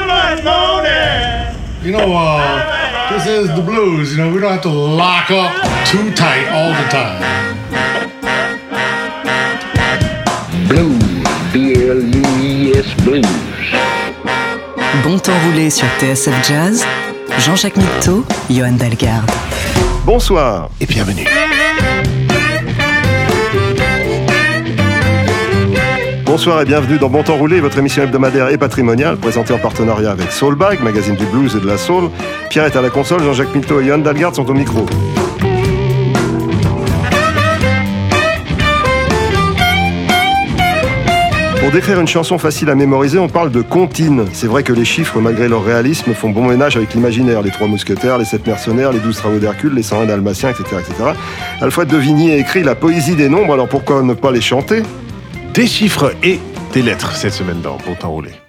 You know, this is the blues. You know, we don't have to lock up too tight all the time. Blues, B-L-U-I-S, blues. Bon temps roulé sur TSF Jazz, Jean-Jacques Mitteau, Johan Dalgarde. Bonsoir et bienvenue. Bonsoir et bienvenue dans Bon Temps Roulé, votre émission hebdomadaire et patrimoniale, présentée en partenariat avec Soulbag, magazine du blues et de la soul. Pierre est à la console, Jean-Jacques Mitteau et Johan Dalgarde sont au micro. Pour décrire une chanson facile à mémoriser, on parle de comptine. C'est vrai que les chiffres, malgré leur réalisme, font bon ménage avec l'imaginaire. Les 3 mousquetaires, les 7 mercenaires, les 12 travaux d'Hercule, les 101 dalmatiens, etc., etc. Alfred de Vigny a écrit la poésie des nombres, alors pourquoi ne pas les chanter ? Des chiffres et des lettres cette semaine dans Bon Temps Roulé.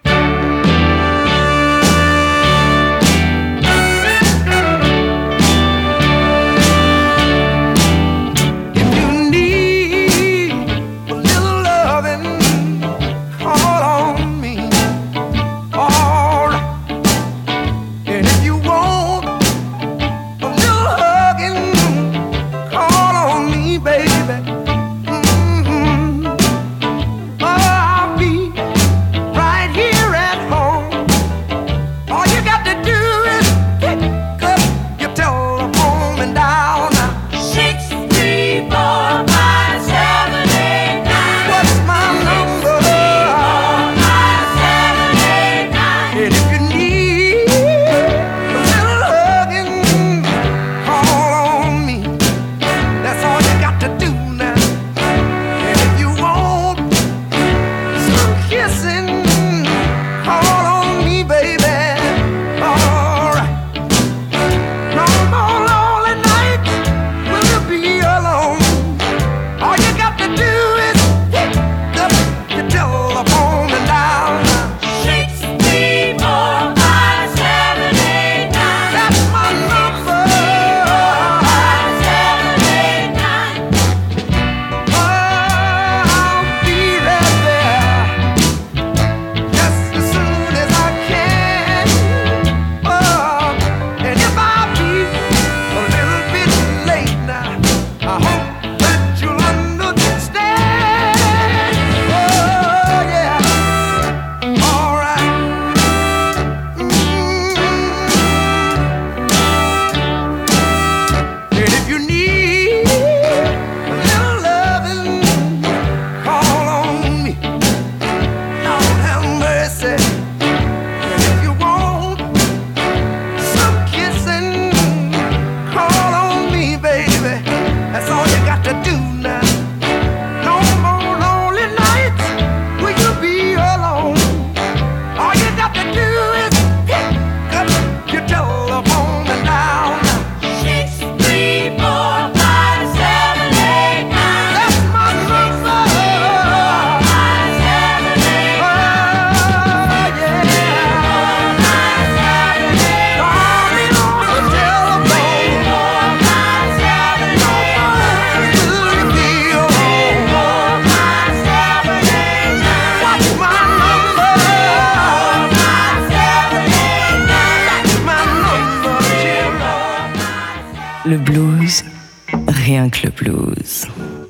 Le blues, rien que le blues.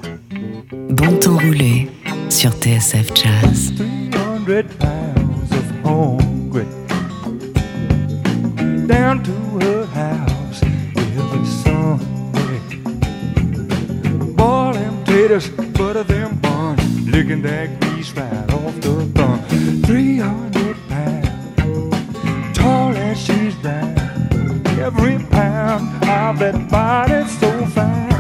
Bon temps roulé sur TSF Jazz. 300 pounds of hungry down to her house every Sunday. Boil them taters, butter them buns, licking that grease right off the bun. 300 pounds, tall as she's round. Every pound of that body's so fine,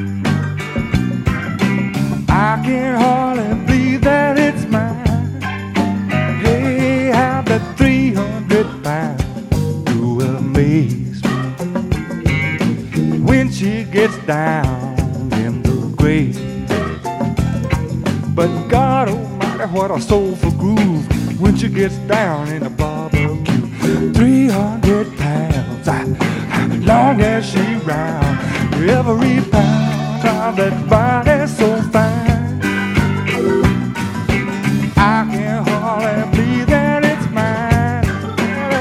I can hardly believe that it's mine. Hey, how that 300 pounds do amaze me when she gets down in the grave. But God Almighty, what a soulful groove when she gets down in the barbecue. 300 pounds, long as she round, every pound of that body so fine, I can hardly believe that it's mine.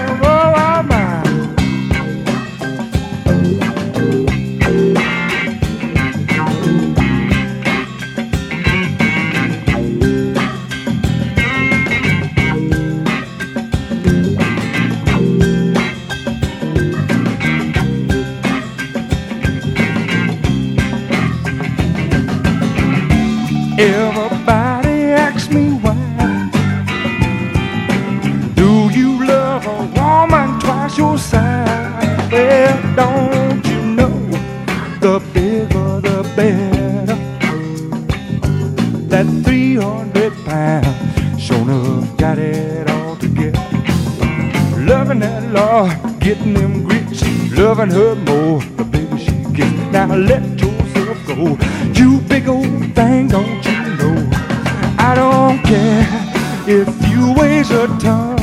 Lord, getting them grits, loving her more, the baby she gets. Now let yourself go, you big old thing, don't you know? I don't care if you waste a ton,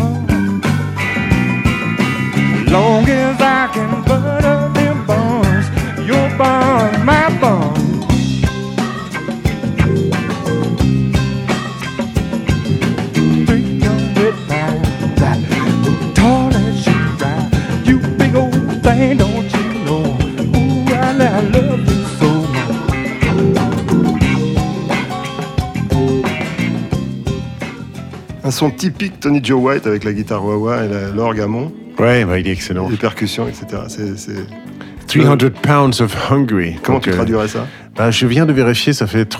long as I can butter them buns, your bun, my bun. 300 pounds, tall as you ride, you big old thing, don't you know? Ooh, I love you so much. Un son typique Tony Joe White avec la guitare wah-wah et l'orgue à mont, Ouais, bah, il est excellent. les percussions, etc. C'est... 300 pounds of hungry. Comment Donc, tu traduirais ça? Bah, je viens de vérifier, ça fait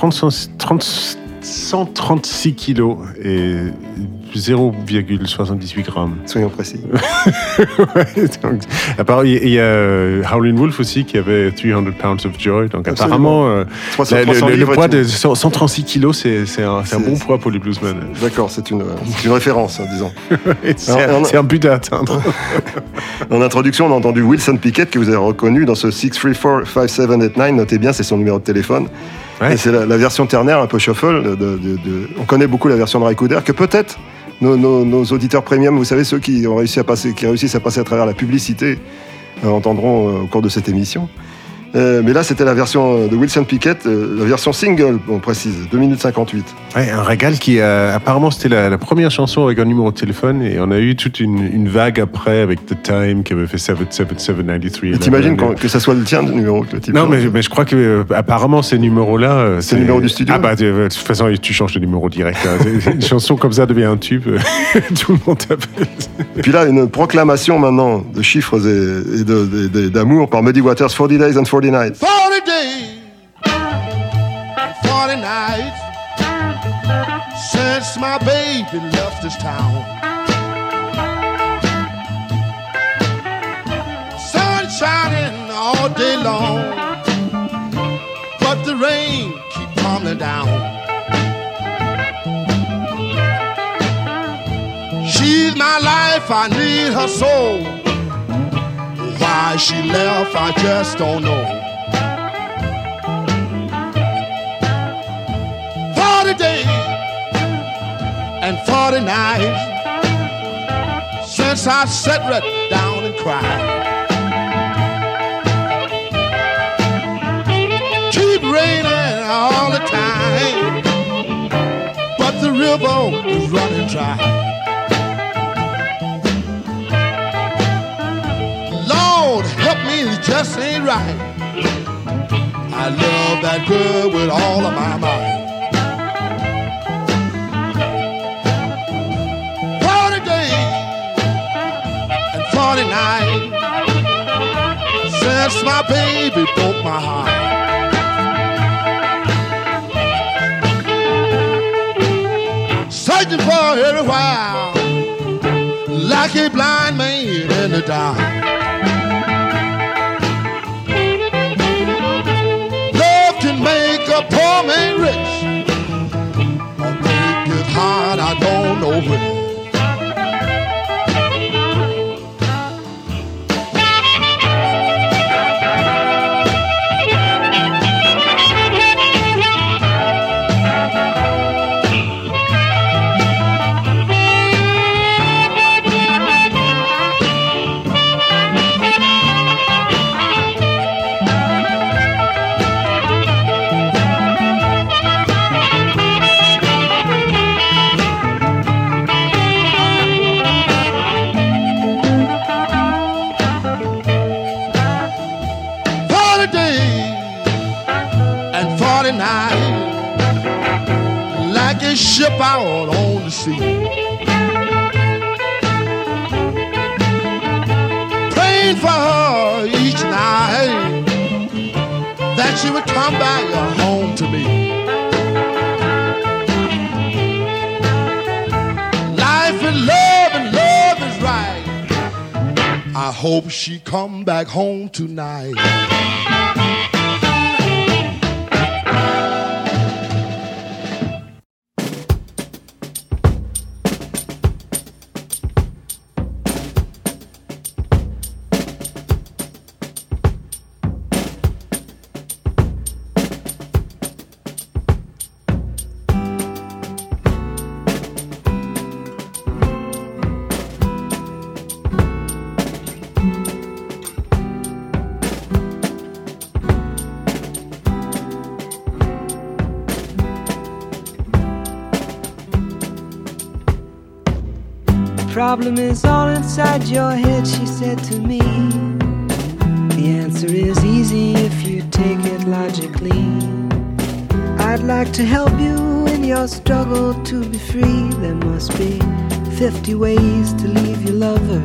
136 kilos et 0,78 grammes. Soyons précis. Ouais, donc, apparemment, il y a Howlin' Wolf aussi qui avait 300 pounds of joy. Donc Absolument. apparemment, 300 le livres poids et tout. de 136 kilos, c'est un bon poids pour les bluesmen. D'accord, c'est une référence, hein, disons. C'est un but à atteindre. En introduction, on a entendu Wilson Pickett, que vous avez reconnu dans ce 634-5789. Notez bien, c'est son numéro de téléphone. Ouais. Et c'est la version ternaire, un peu shuffle. On connaît beaucoup la version de Ray Cooder, que peut-être nos auditeurs premium, vous savez, ceux qui réussissent à passer à travers la publicité, entendront au cours de cette émission. Mais là, c'était la version de Wilson Pickett, la version single, on précise, 2 minutes 58. Ouais, un régal qui apparemment c'était la première chanson avec un numéro de téléphone et on a eu toute une vague après avec The Time qui avait fait 77793. Et t'imagines que ça soit le tien, le numéro que le type. Non, mais je crois que apparemment ces numéros-là, c'est le numéro du studio. Ah bah de toute façon tu changes de numéro direct. Hein. Une chanson comme ça devient un tube, tout le monde t'appelle. Et puis là, une proclamation maintenant de chiffres et d'amour par Muddy Waters, 40 Days and 40 Nights. 40 days and 40 nights since my baby left this town. Sun shining all day long, but the rain keep tumbling down. She's my life, I need her so. Why she left, I just don't know. 40 days and 40 nights since I sat right down and cried. Keep raining all the time, but the river is running dry. Lord, help me, it just ain't right. I love that girl with all of my might. 40 days and 40 nights since my baby broke my heart. Searching for everywhere like a blind man in the dark. Make a poor man rich or make it hard, I don't know where. Like a ship out on the sea, praying for her each night that she would come back home to me. Life and love is right. I hope she come back home tonight. problem is all inside your head, she said to me. The answer is easy if you take it logically. I'd like to help you in your struggle to be free. There must be 50 ways to leave your lover.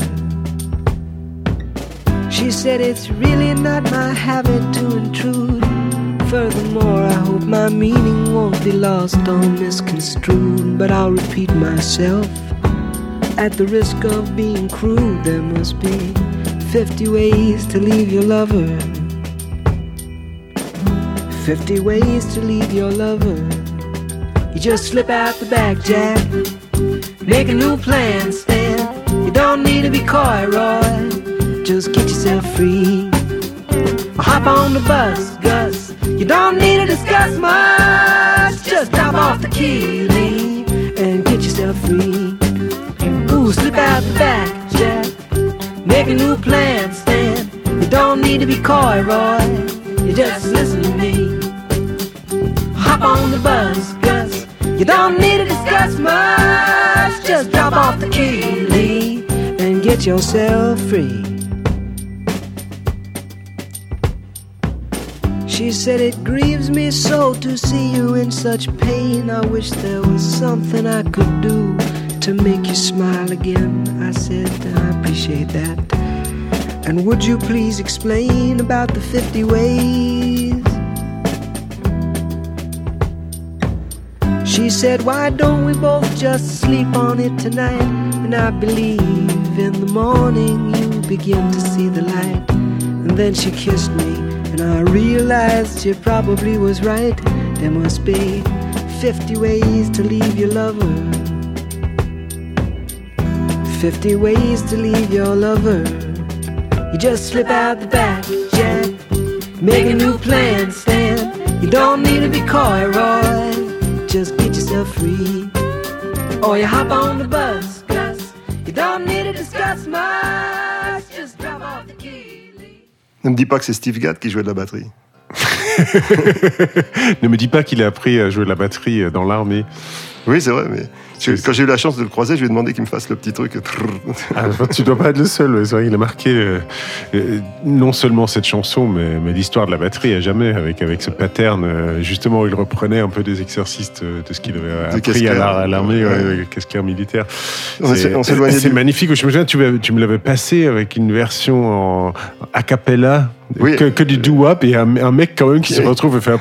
She said it's really not my habit to intrude. Furthermore, I hope my meaning won't be lost or misconstrued. But I'll repeat myself at the risk of being crude. There must be 50 ways to leave your lover. 50 ways to leave your lover. You just slip out the back, Jack. Make a new plan, Stan. You don't need to be coy, Roy. Just get yourself free. Hop on the bus, Gus. You don't need to discuss much. Just drop off the key, leave, and get yourself free. Ooh, slip out the back, Jack. Make a new plan, Stan. You don't need to be coy, Roy. You just listen to me. Hop on the bus, Gus. You don't need to discuss much. Just drop off the key, leave, and get yourself free. She said, it grieves me so to see you in such pain. I wish there was something I could do to make you smile again. I said, I appreciate that. And would you please explain about the 50 ways? She said, why don't we both just sleep on it tonight? And I believe in the morning you begin to see the light. And then she kissed me, and I realized she probably was right. There must be 50 ways to leave your lover. 50 ways to leave your lover. You just slip out the back, Jack. Make a new plan, Stan. You don't need to be coy, Roy. Just get yourself free. Or you hop on the bus, Gus. You don't need to discuss much. Just drop off the key. Ne me dis pas que c'est Steve Gadd qui jouait de la batterie. Ne me dis pas qu'il a appris à jouer de la batterie dans l'armée. Oui, c'est vrai, mais quand j'ai eu la chance de le croiser, je lui ai demandé qu'il me fasse le petit truc. Ah, tu dois pas être le seul. C'est vrai, il a marqué non seulement cette chanson, mais l'histoire de la batterie à jamais, avec ce pattern, justement, où il reprenait un peu des exercices de ce qu'il avait appris à l'armée, casqueur militaire. C'est magnifique. Je me souviens, tu me l'avais passé avec une version en a cappella. Oui. Que du doo-wop et un mec quand même qui se retrouve et fait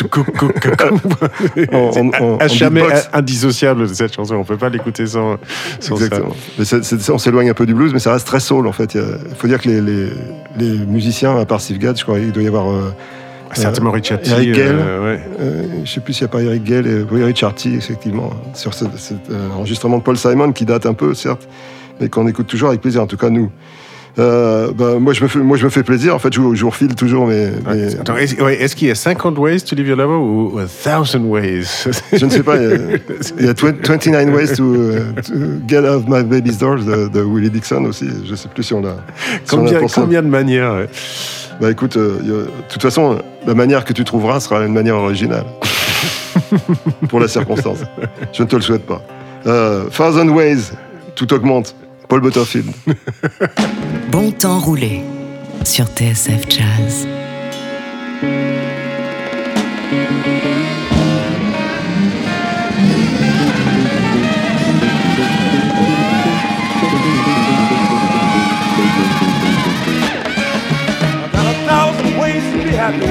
un jamais indissociable de cette chanson. On peut pas l'écouter sans exactement. Ça. Mais on s'éloigne un peu du blues, mais ça reste très soul en fait. Il faut dire que les musiciens, à part Steve Gadd, je crois qu'il doit y avoir certainement Ricciardi, Eric Gale. Je sais plus s'il n'y a pas Eric Gale et Ricciardi effectivement sur cet enregistrement de Paul Simon qui date un peu certes, mais qu'on écoute toujours avec plaisir. En tout cas nous. Moi je me fais plaisir en fait, je vous refile toujours mes... Attends, est-ce qu'il y a 50 ways to leave your lover ou 1000 ways? Je ne sais pas, il y a 29 ways to get out of my baby's doors de Willie Dixon aussi, je ne sais plus si on l'a... Combien de manières ouais. Bah écoute, de toute façon la manière que tu trouveras sera une manière originale pour la circonstance, je ne te le souhaite pas. 1000 ways, tout augmente. Paul Butterfield. Bon temps roulé sur TSF Jazz. I got 1,000 ways to be happy.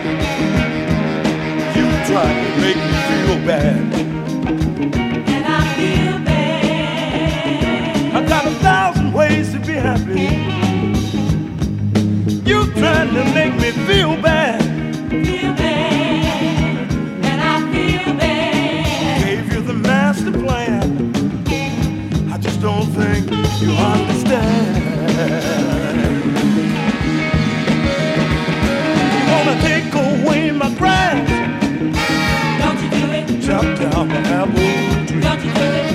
You try to make me feel bad. Ways to be happy. You trying to make me feel bad. Feel bad, and I feel bad. Gave you the master plan. I just don't think you understand. You wanna take away my grass? Don't you do it? Chop down my apple tree. Don't you do it?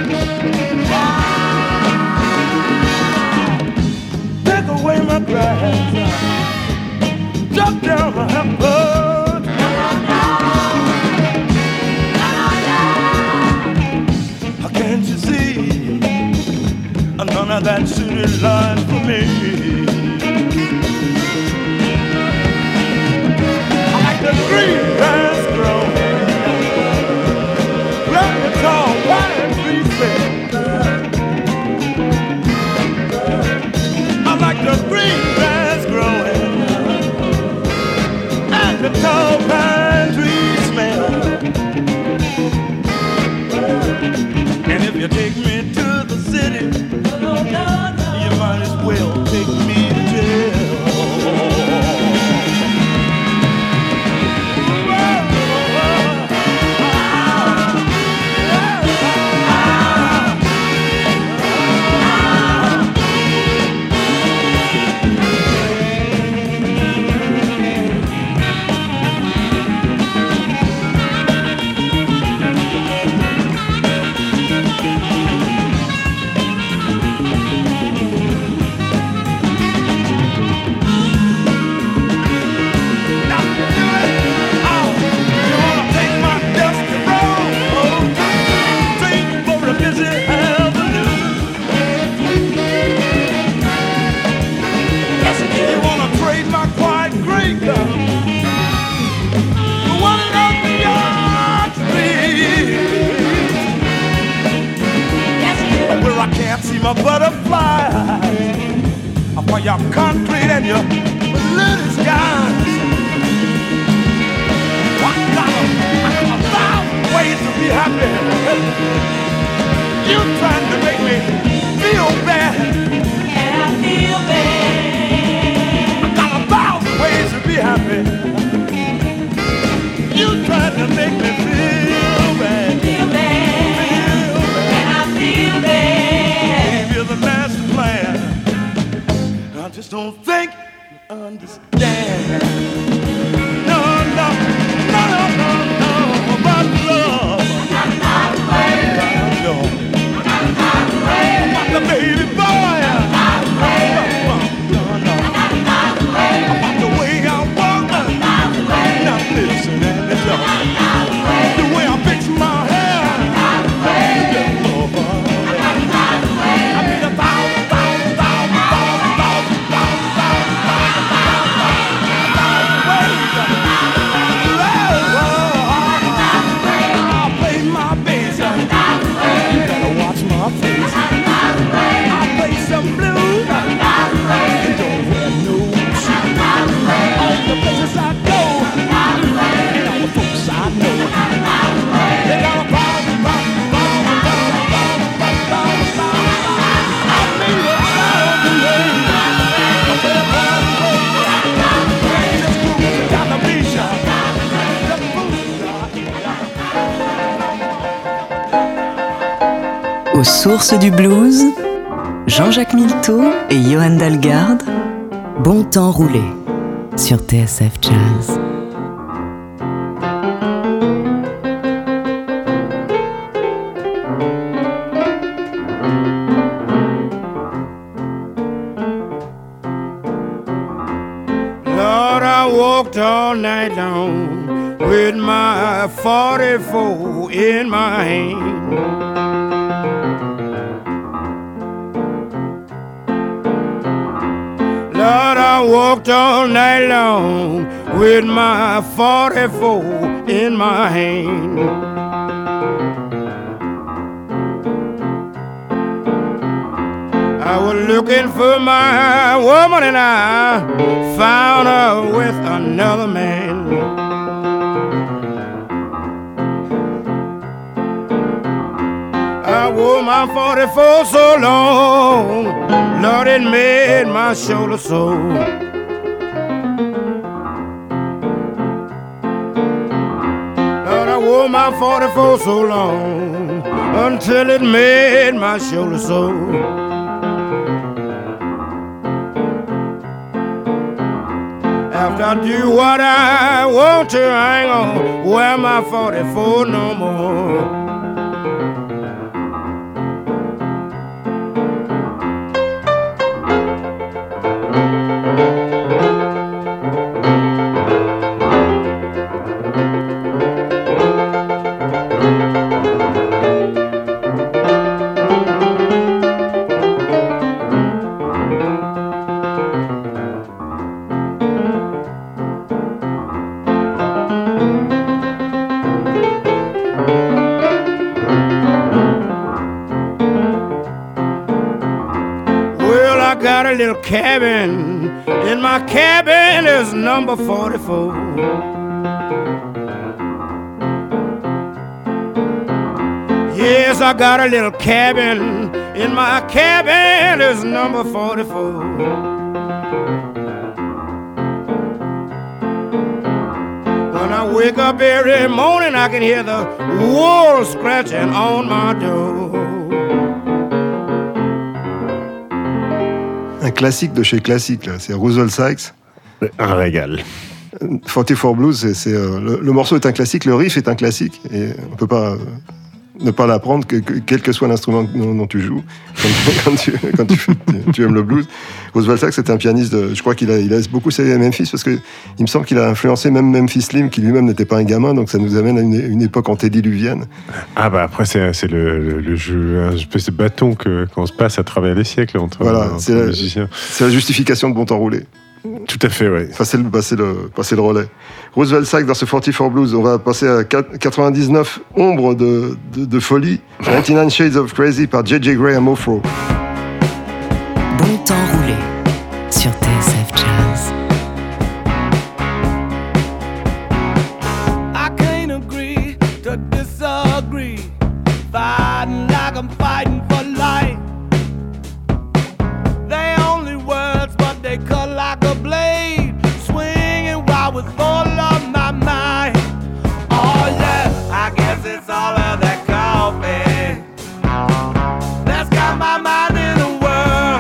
Away my grass, drop down my apple. How can't you see none of that city life for me. I like the green grass growing, let the tall pine trees bend. I like the green grass growing and the tall pine trees smell. And if you take me to the city, you might as well take me to jail. My butterflies for your concrete and your little skies. I got 1,000 ways to be happy. You trying to make me feel bad, and I feel bad. I got 1,000 ways to be happy. You trying to make me feel bad, feel bad, and I feel bad. The master plan, I just don't think you understand. No, no, no, no, no, no, about love. About the baby boy. About the way I walk. Now listen and listen. The way I fix my hair. Aux sources du blues, Jean-Jacques Milteau et Johan Dalgarde, Bon temps roulé sur TSF Jazz. Lord, I walked all night long with my 44 in my hand. Lord, I walked all night long with my 44 in my hand. I was looking for my woman and I found her with another man. I wore my 44 so long, Lord, it made my shoulder sore. Lord, I wore my 44 so long until it made my shoulder sore. After I do what I want to, I ain't gonna wear my 44 no more. I got a little cabin. In my cabin is number 44. Yes, I got a little cabin. In my cabin is number 44. When I wake up every morning, I can hear the wolves scratching on my door. Un classique de chez classique, là. C'est Roosevelt Sykes. Un régal. 44 Blues, le morceau est un classique, le riff est un classique, et on ne peut pas ne pas l'apprendre, quel que soit l'instrument dont tu joues, quand tu aimes le blues. Roosevelt Sykes, c'est un pianiste, je crois qu'il a beaucoup servi à Memphis, parce qu'il me semble qu'il a influencé même Memphis Slim, qui lui-même n'était pas un gamin, donc ça nous amène à une époque antédiluvienne. Ah bah après, c'est le jeu, un espèce de bâton qu'on se passe à travers les siècles entre musiciens. C'est la justification de Bon Temps Roulé. Tout à fait, oui. Passer le relais. Roosevelt Sykes dans ce 44 Blues. On va passer à 99 Ombres de folie. 99 Shades of Crazy par J.J. Graham Ofro. Bon Temps Roulé sur TSF Jazz. I can't agree to disagree. Fighting like I'm fighting for life. They only words, but they cut like a blade. Swinging wild with all of my mind. Oh yeah, I guess it's all of that coffee that's got my mind in a whirl.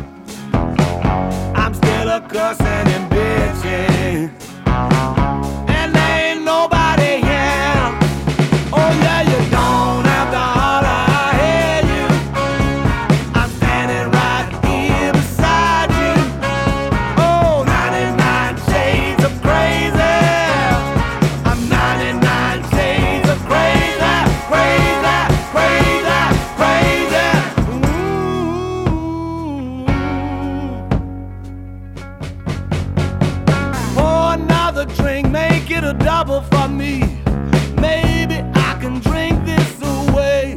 I'm still a cussing and bitching, and there ain't nobody here. Oh yeah, you don't have to holler, I hear you. I'm standing right here beside you. Oh, 99 shades of crazy. I'm 99 shades of crazy, crazy, crazy, crazy. Ooh. Pour another drink, make it a double for me. Maybe I can drink this away.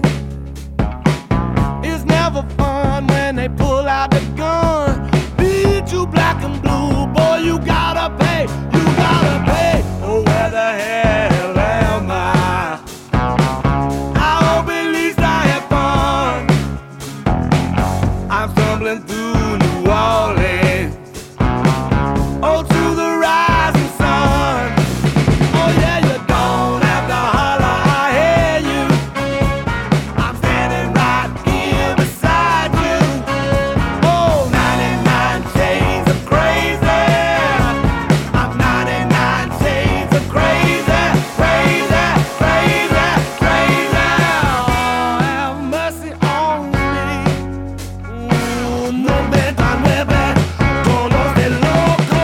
It's never fun when they pull out the gun. Beat you black and blue, boy, you gotta pay, you gotta pay. Oh, where the hell am I? I hope at least I have fun. I'm stumbling through New Orleans. Oh, to the rising sun. Oh yeah, you don't have to holler, I hear you. I'm standing right here beside you. Oh, 99 shades of crazy. I'm 99 shades of crazy, crazy, crazy, crazy. Oh, have mercy on me. Ooh, no me tan mueve con los de loco.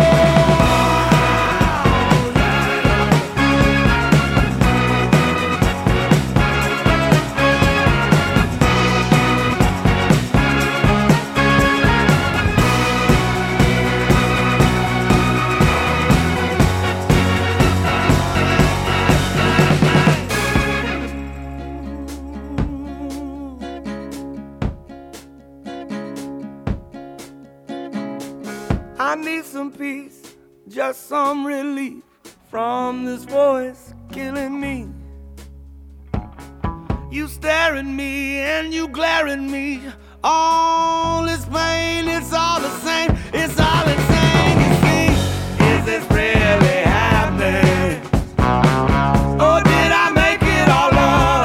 I need some peace, just some relief from this voice killing me. You stare at me and you glare at me. All this pain, it's all the same. It's all insane. You see, is this really happening? Or did I make it all up?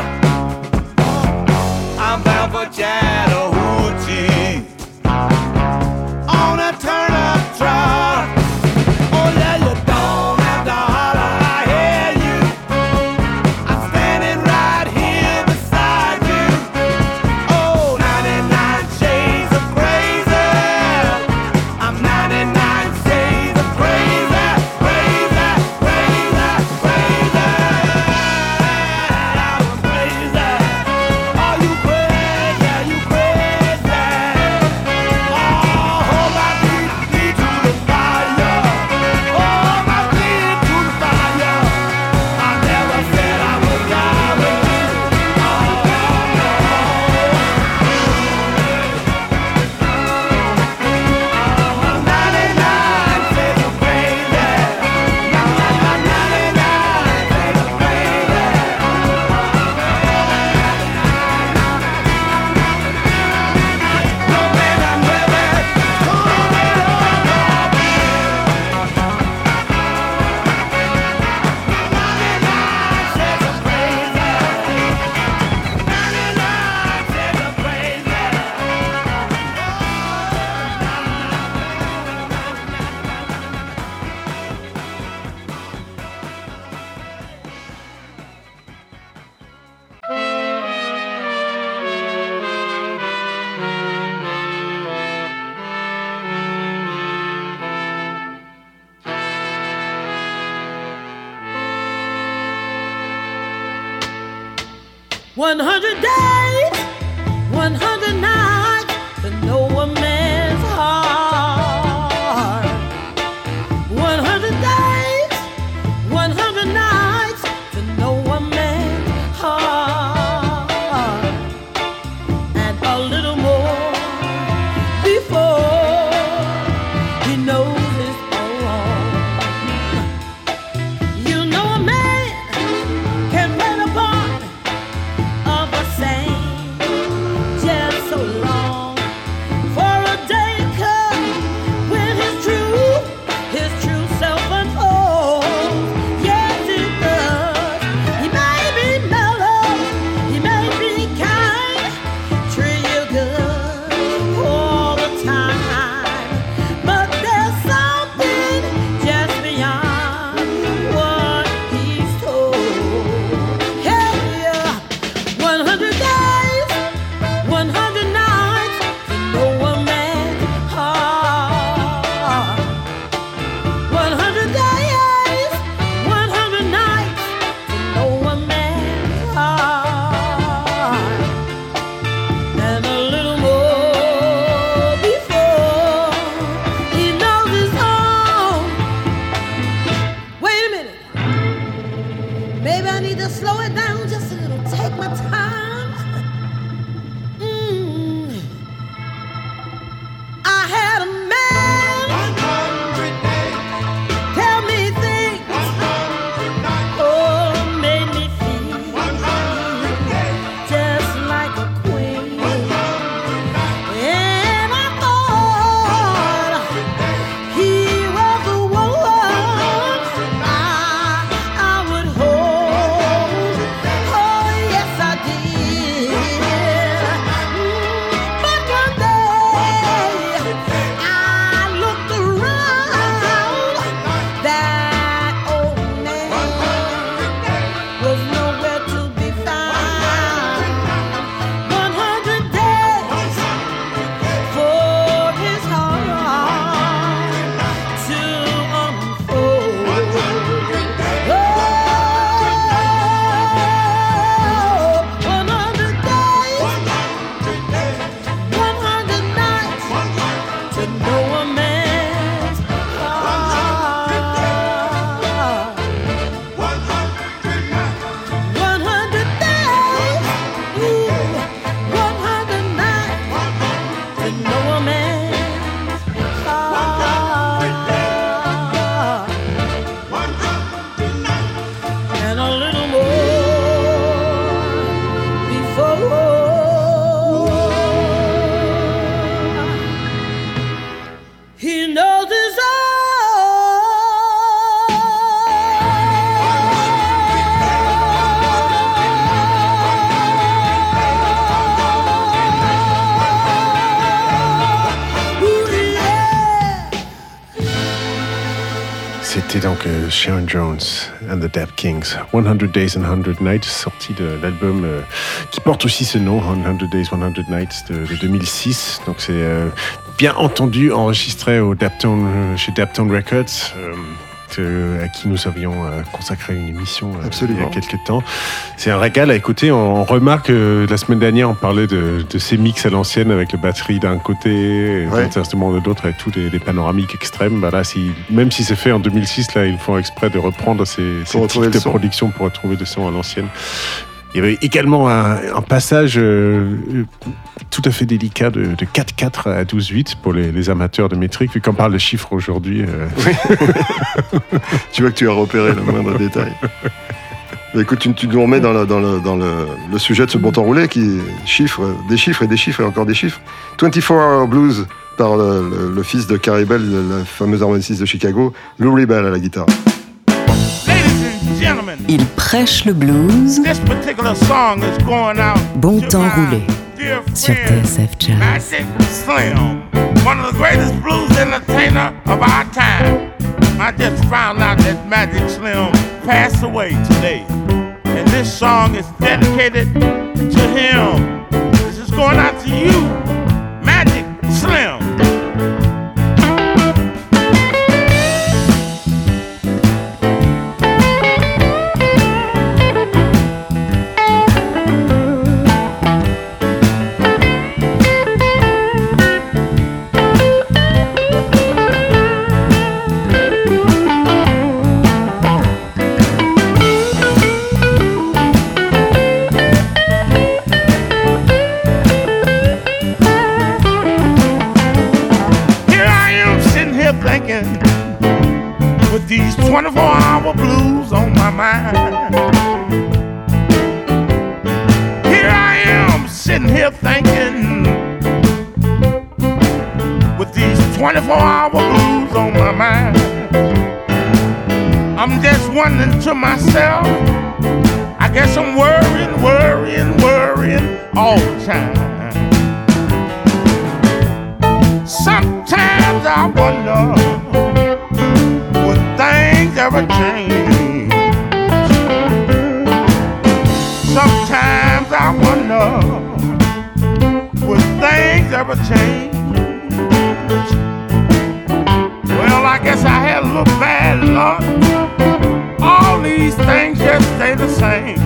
I'm bound for Chattahoochee on a turn-up truck. Oh yeah, you don't have to holler, I hear you. I'm standing right here beside you. Oh, 99 shades 100 days, 100 nights to know a man's heart. 100 days, 100 nights to know a man's heart. And a little more before he knows his own. You know a man can play the part of a saint just so long. For a day comes when his true self unfolds. Yes, it does. He may be mellow, he may be kind, treat you good all the time. But there's something just beyond what he's told. Yeah, 100 days, 100 nights to know a man's heart. 100 days, 100 nights to know a man's heart. And a little more before he knows his own. Wait a minute. Maybe I need to slow it down just a little. Take my time. I had a man tell me things, oh, made me feel just like a queen. And I thought he was the one I would hold. Oh, yes, I did. But one day I looked around. That old man was nowhere to be found. 100 days for his heart to unfold. Oh, 100 days, 100 nights to know a man's heart. 100 days, 100 nights to know a man's heart. And a little more before he knows his C'était donc Sharon Jones and the Dap Kings, 100 Days and 100 Nights, sorti de l'album qui porte aussi ce nom, 100 Days, 100 Nights de 2006. Donc c'est bien entendu enregistré au chez Daptone Records, à qui nous avions consacré une émission il y a quelques temps. C'est un régal à écouter. On remarque la semaine dernière, on parlait de ces mix à l'ancienne avec la batterie d'un côté, des instruments de l'autre, avec tous les panoramiques extrêmes. Bah là, même si c'est fait en 2006, là, ils font exprès de reprendre ces types de production pour retrouver des sons à l'ancienne. Il y avait également un passage tout à fait délicat de 4/4 à 12/8 pour les amateurs de métrique, vu qu'on parle de chiffres aujourd'hui. Tu vois que tu as repéré le moindre détail. Mais écoute, tu nous remets dans le sujet de ce bon temps roulé qui des chiffres et encore des chiffres. 24 Hour Blues par le fils de Carrie Bell, la fameuse harmoniciste de Chicago, Lou Rebel à la guitare. Il prêche le blues. Bon temps roulé sur TSF Jazz. Magic Slim, one of the greatest blues entertainers of our time. I just found out that Magic Slim passed away today. And this song is dedicated to him. This is going out to you, Magic Slim. 24-hour blues on my mind. Here I am sitting here thinking, with these 24-hour blues on my mind. I'm just wondering to myself, I guess I'm worrying all the time. Sometimes I wonder, would things ever change? Sometimes I wonder, would things ever change? Well, I guess I had a little bad luck. All these things just stay the same.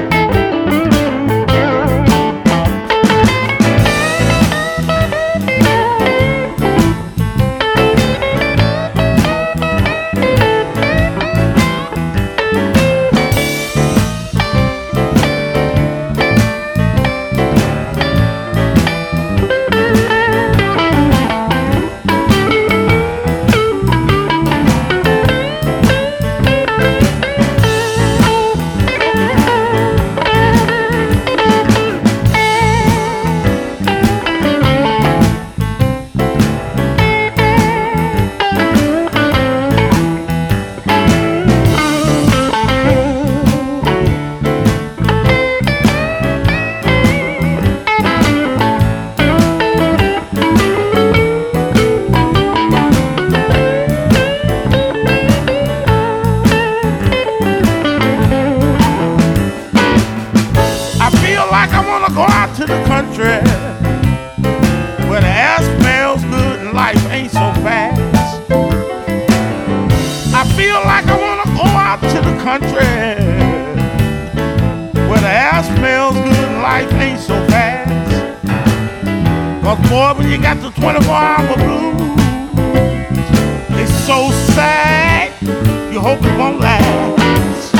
Boy, when you got the 24-hour blues, it's so sad, you hope it won't last.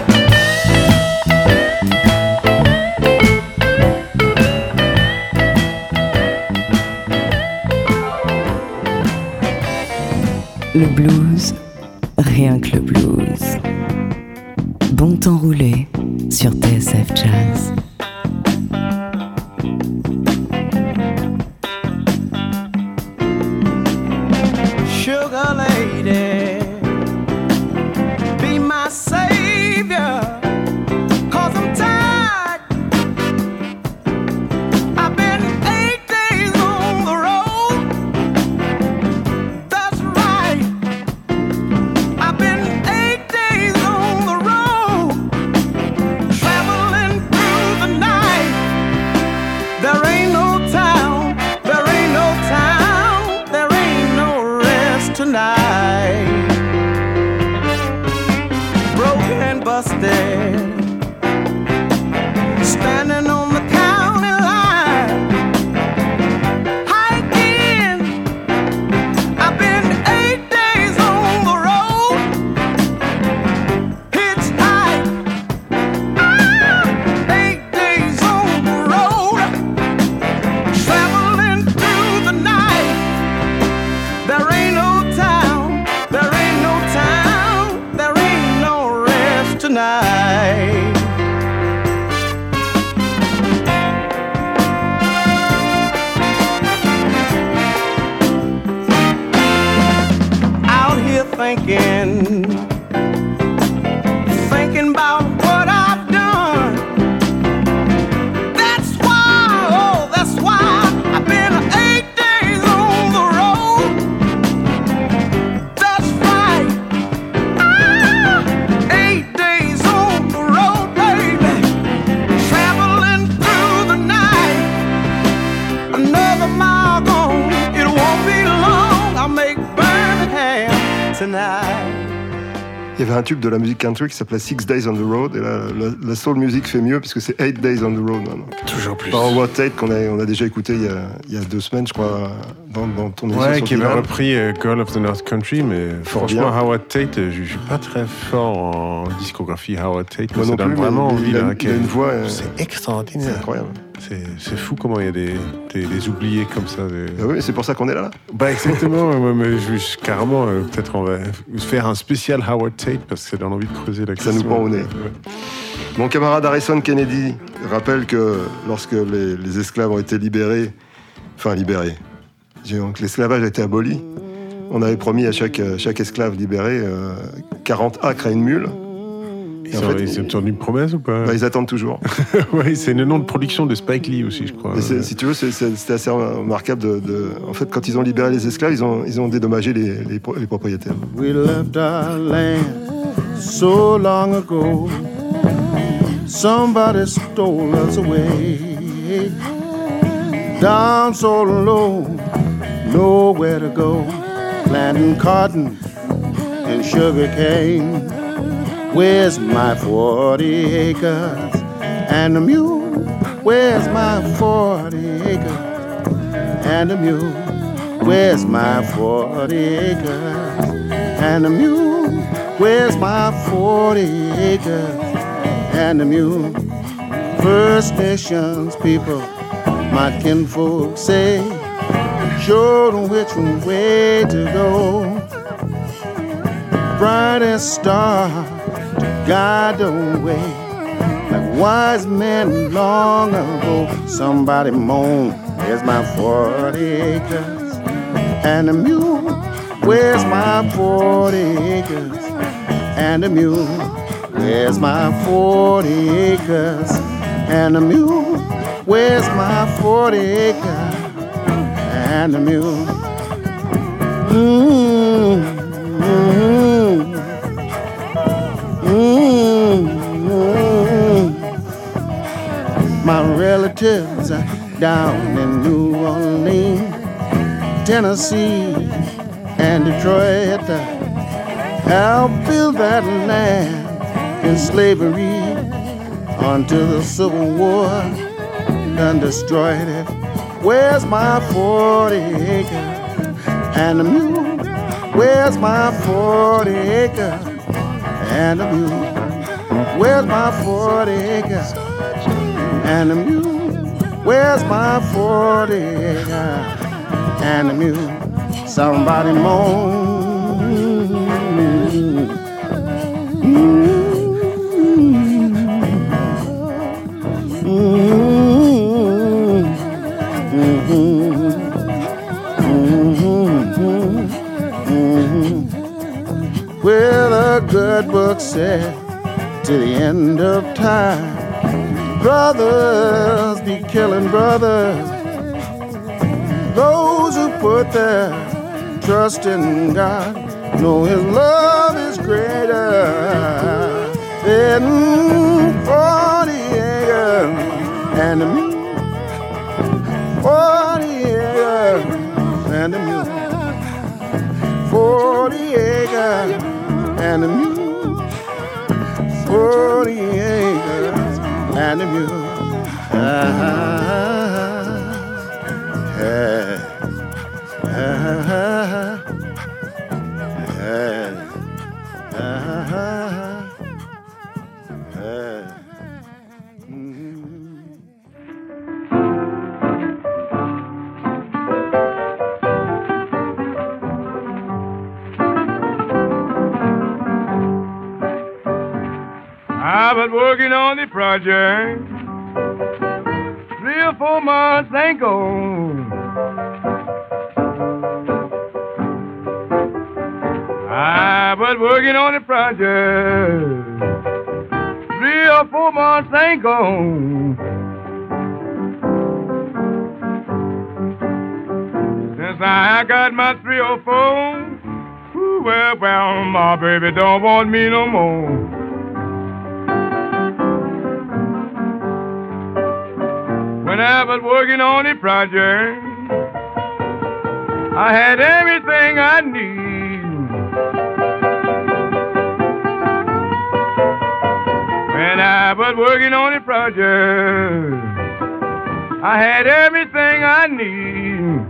Le blues, rien que le blues. Bon temps roulé sur TSF Jazz. Sugar lady, be my savior, 'cause I'm tired. I've been 8 days on the road. That's right. I've been 8 days on the road, traveling through the night. There ain't no town, there ain't no town, there ain't no rest tonight. Broken and busted, standing on the county line. Hiking, I've been 8 days on the road. Hitchhike, 8 days on the road, traveling through the night. There ain't no town, there ain't no town, there ain't no rest tonight. Out here thinking about what I've done. That's why I've been 8 days on the road. That's right. 8 days on the road, baby. Traveling through the night. Another mile gone, it won't be long. I'll make Birmingham tonight. Il y avait un tube de la musique country qui s'appelait 6 Days on the Road, et là, la soul music fait mieux puisque c'est 8 Days on the Road maintenant. Toujours plus. Par Howard Tate qu'on a déjà écouté il y a 2 semaines, je crois, dans ton émission. Ouais, sur qui avait Dylan. repris Girl of the North Country, mais franchement, Howard Tate, je suis pas très fort en discographie Howard Tate, mais Moi ça non donne plus, vraiment mais envie. il a là, une voix. C'est extraordinaire. C'est incroyable. C'est fou comment il y a des oubliés comme ça. Oui, c'est pour ça qu'on est là. Bah exactement, mais carrément, peut-être on va faire un spécial Howard Tate parce que ça donne envie de creuser la question. Ça nous prend au nez. Mon camarade Harrison Kennedy rappelle que lorsque les esclaves ont été libérés, donc l'esclavage a été aboli, on avait promis à chaque esclave libéré 40 acres à une mule. Ils ont tenu une promesse ou pas? Ils attendent toujours. Oui, c'est le nom de production de Spike Lee aussi, je crois. Si tu veux, c'était assez remarquable. En fait, quand ils ont libéré les esclaves, ils ont dédommagé les propriétaires. We left our land so long ago. Somebody stole us away. Down so low, nowhere to go. Planting cotton and sugar cane. Where's my 40 acres and a mule? Where's my 40 acres and a mule? Where's my 40 acres and a mule? Where's my 40 acres and a mule? First Nations people, my kinfolk say, show them which way to go. Brightest star guide the way, like wise men long ago. Somebody moan, where's my 40 acres and a mule? Where's my 40 acres and a mule? Where's my 40 acres and a mule? Where's my 40 acres and a mule? My relatives are down in New Orleans, Tennessee, and Detroit. Helped build that land in slavery until the Civil War done destroyed it. Where's my 40 acres and a mule? Where's my 40 acres and a mule? Where's my 40 acres and a mule? Where's my 40 acres and a mule? Somebody moan. Well, the good book said to the end of time, brothers be killing brothers. Those who put their trust in God know His love is greater than 40 acres and a mule. 40 acres and a mule. 40 acres and a mule. 40 acres and a mule. I was working on the project 3 or 4 months ago. I was working on the project 3 or 4 months ago. Since I got my 3 or 4, well, my baby don't want me no more. When I was working on the project, I had everything I need. When I was working on the project, I had everything I need.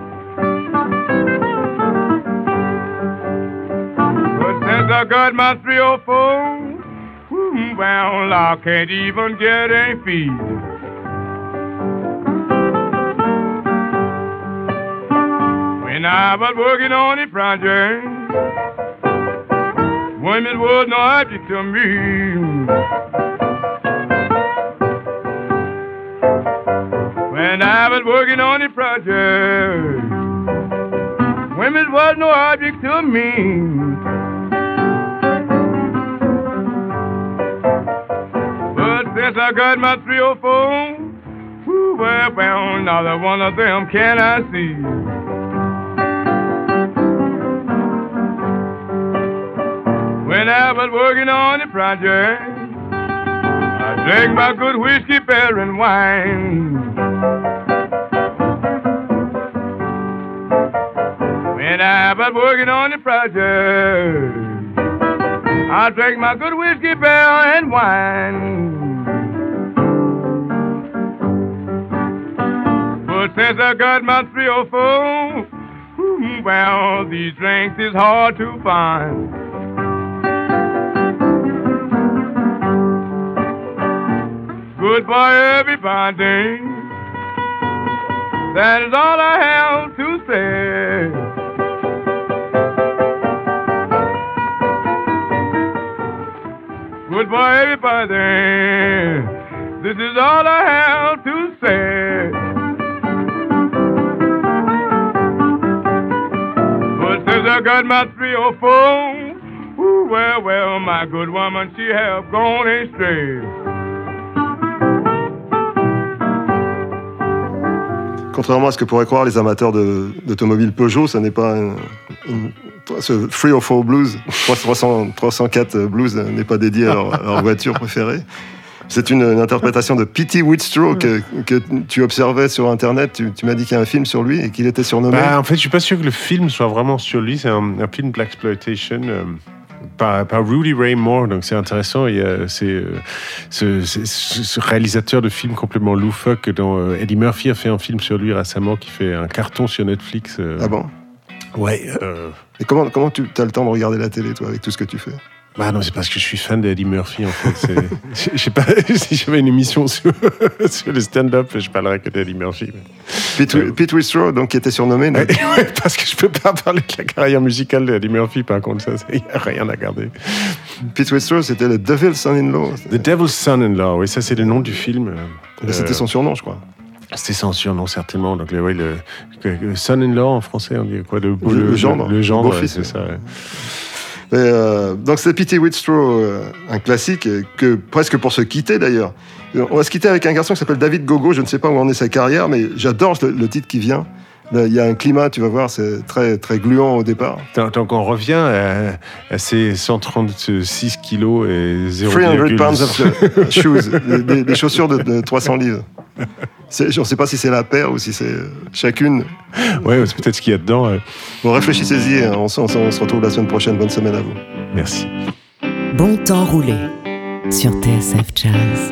But since I got my 3 or 4, well, I can't even get a feed. When I was working on the project, women was no object to me. When I was working on the project, women was no object to me. Since I got my 304, well, neither one of them can I see. When I was working on the project, I drank my good whiskey, beer, and wine. When I was working on the project, I drank my good whiskey, beer, and wine. But since I got my 304, well, these drinks is hard to find. Goodbye, everybody. That is all I have to say. Goodbye, everybody. This is all I have to say. But since I got my 304, well, my good woman, she have gone astray. Contrairement à ce que pourraient croire les amateurs d'automobiles Peugeot, ça n'est pas ce 304 Blues, 304 Blues n'est pas dédié à leur voiture préférée. C'est une interprétation de Pete Whitstraw que tu observais sur Internet. Tu m'as dit qu'il y a un film sur lui et qu'il était surnommé. En fait, je suis pas sûr que le film soit vraiment sur lui. C'est un film Blaxploitation. Par Rudy Ray Moore, donc c'est intéressant. Il y a ce réalisateur de films complètement loufoque dont Eddie Murphy a fait un film sur lui récemment qui fait un carton sur Netflix. Ah bon? Ouais. Et comment tu as le temps de regarder la télé, toi, avec tout ce que tu fais? Bah non, c'est parce que je suis fan d'Eddie Murphy, en fait. Je sais pas, si j'avais une émission sur le stand-up, je parlerais que d'Eddie Murphy. Pete Whitstraw, donc, qui était surnommé. Ouais, parce que je peux pas parler de la carrière musicale d'Eddie Murphy, par contre, ça, il n'y a rien à garder. Pete Whitstraw, c'était le Devil's Son-in-Law. The Devil's Son-in-Law, oui, ça c'est le nom du film. C'était son surnom, je crois. C'était son surnom, certainement. Donc, le son-in-law, en français, on dit quoi? Le gendre. Le gendre, beau-fils, c'est ça, ouais. Donc c'est Pete Whitstraw, un classique, que presque pour se quitter d'ailleurs. On va se quitter avec un garçon qui s'appelle David Gogo, je ne sais pas où en est sa carrière, mais j'adore le titre qui vient. Il y a un climat, tu vas voir, c'est très, très gluant au départ. Donc on revient à ces 136 kilos et 0,... 300 pounds of shoes, des chaussures de 300 livres. Je ne sais pas si c'est la paire ou si c'est chacune. Ouais, c'est peut-être ce qu'il y a dedans. Bon, réfléchissez-y, on se retrouve la semaine prochaine. Bonne semaine à vous. Merci. Bon temps roulé sur TSF Jazz.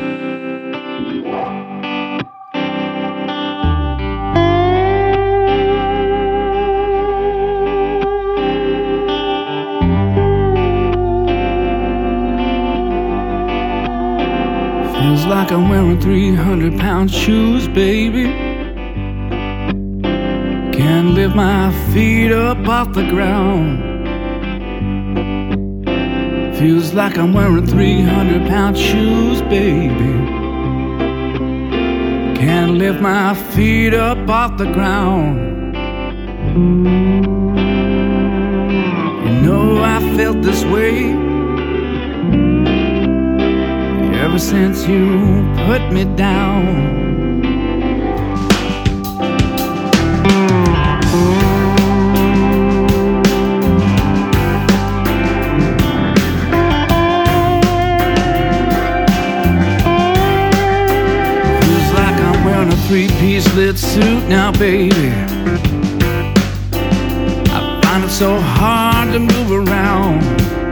Feels like I'm wearing 300-pound shoes, baby. Can't lift my feet up off the ground. Feels like I'm wearing 300-pound shoes, baby. Can't lift my feet up off the ground. You know I felt this way ever since you put me down. Feels like I'm wearing a three-piece lit suit now, baby. I find it so hard to move around.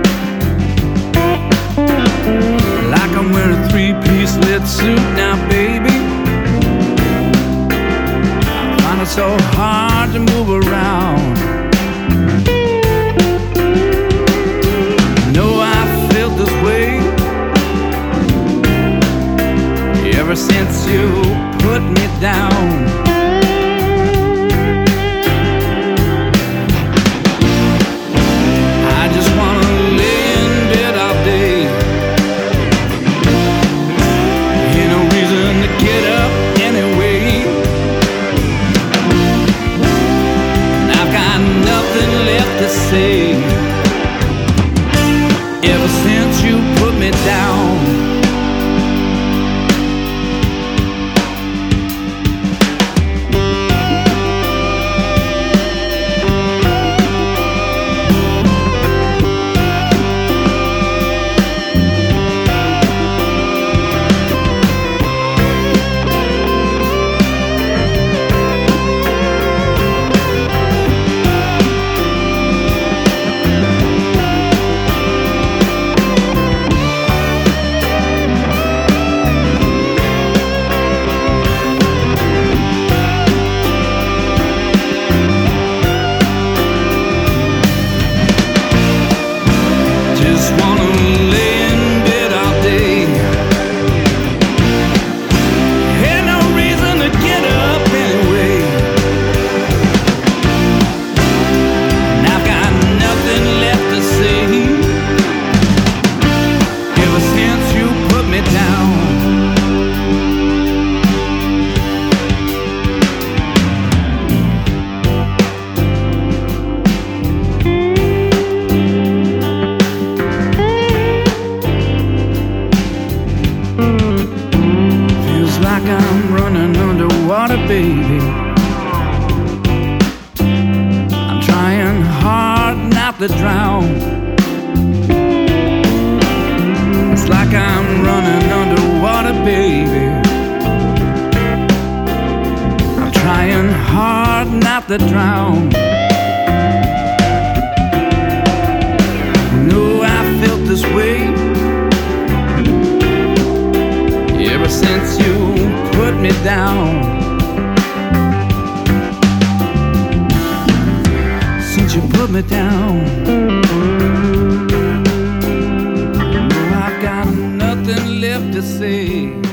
Like I'm wearing a three-piece lit suit now, baby. I find it so hard to move around. Know I felt this way ever since you put me down. to drown. It's like I'm running underwater, baby. I'm trying hard not to drown. No, I felt this way ever since you put me down. Since you put me down, no, I've got nothing left to say.